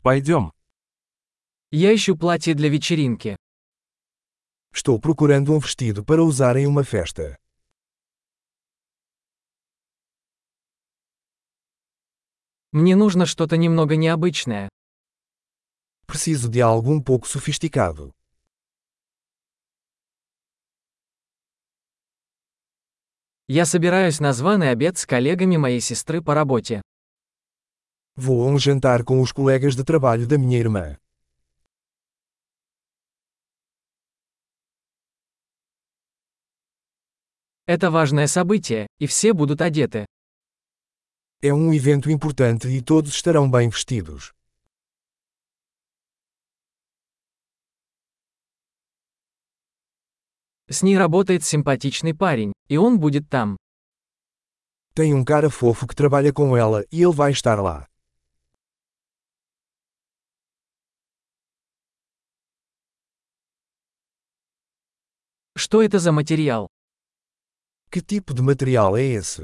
Пойдем. Я ищу платье для вечеринки. Estou procurando vestido para usar em uma festa. Мне нужно что-то немного необычное. Preciso de algo pouco sofisticado. Я собираюсь на званый обед с коллегами моей сестры по работе. Vou a jantar com os colegas de trabalho da minha irmã. Это важное событие, и все будут одеты. É evento importante e todos estarão bem vestidos. С ней работает симпатичный парень, и он будет там. Tem cara fofo que trabalha com ela e ele vai estar lá. Что это за материал? Que tipo de material é esse?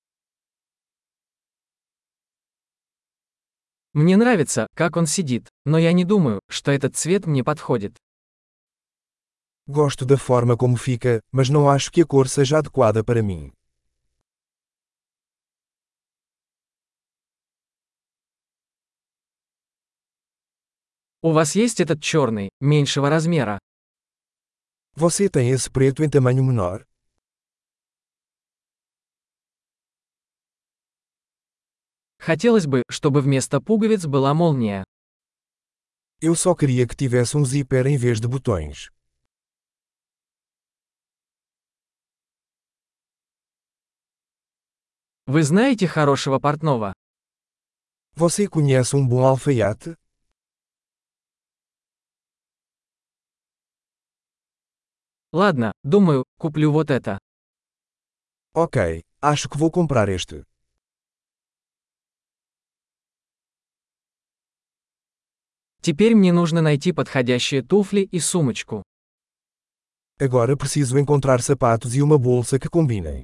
Мне нравится, как он сидит, но я не думаю, что этот цвет мне подходит. Gosto da forma como fica, mas não acho que a cor seja adequada para mim. У вас есть этот черный, меньшего размера? Você tem esse preto em tamanho menor? Хотелось бы, чтобы вместо пуговиц была молния. Eu só queria que tivesse zíper em vez de botões. Вы знаете хорошего портного? Você conhece bom alfaiate? Ладно, думаю, куплю вот это. Ok, acho que vou comprar este. Теперь мне нужно найти подходящие туфли и сумочку. Agora preciso encontrar sapatos e uma bolsa que combinem.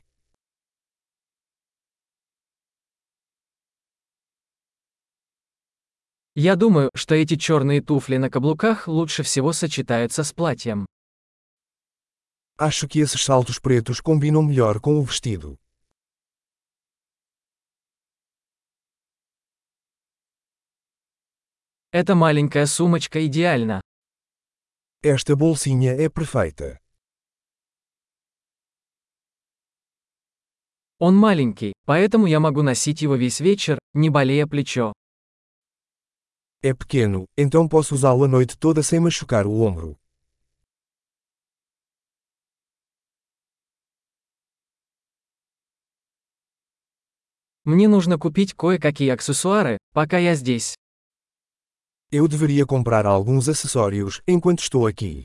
Я думаю, что эти черные туфли на каблуках лучше всего сочетаются с платьем. Acho que esses saltos pretos combinam melhor com o vestido. Эта маленькая сумочка идеальна. Esta bolsinha é perfeita. Он маленький, поэтому я могу носить его весь вечер, не болея плечо. É pequeno, então posso usá-lo a noite toda sem machucar o ombro. Мне нужно купить кое-какие аксессуары, пока я здесь. Eu deveria comprar alguns acessórios enquanto estou aqui.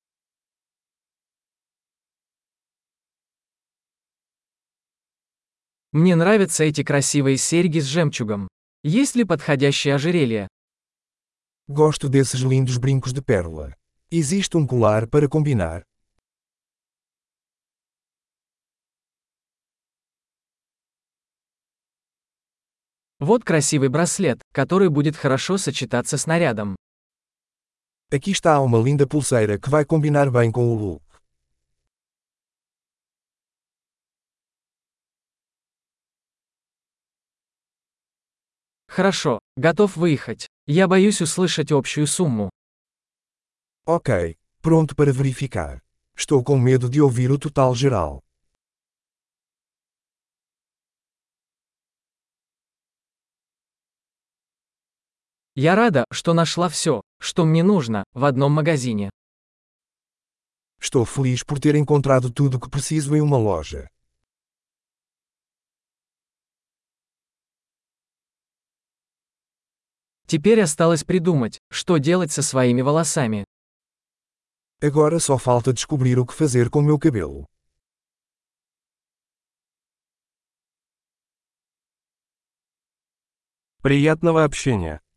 Мне нравятся эти красивые серьги с жемчугом. Есть ли подходящее ожерелье? Gosto desses lindos brincos de pérola. Existe colar para combinar? Вот красивый браслет, который будет хорошо сочетаться с нарядом. Aqui está uma linda pulseira que vai combinar bem com o look. Хорошо, готов выехать. Я боюсь услышать общую сумму. Ok, pronto para verificar. Estou com medo de ouvir o total geral. Я рада, что нашла все, что мне нужно, в одном магазине. Estou feliz por ter encontrado tudo o que preciso em uma loja. Теперь осталось придумать, что делать со своими волосами. Agora só falta descobrir o que fazer com meu cabelo. Приятного общения.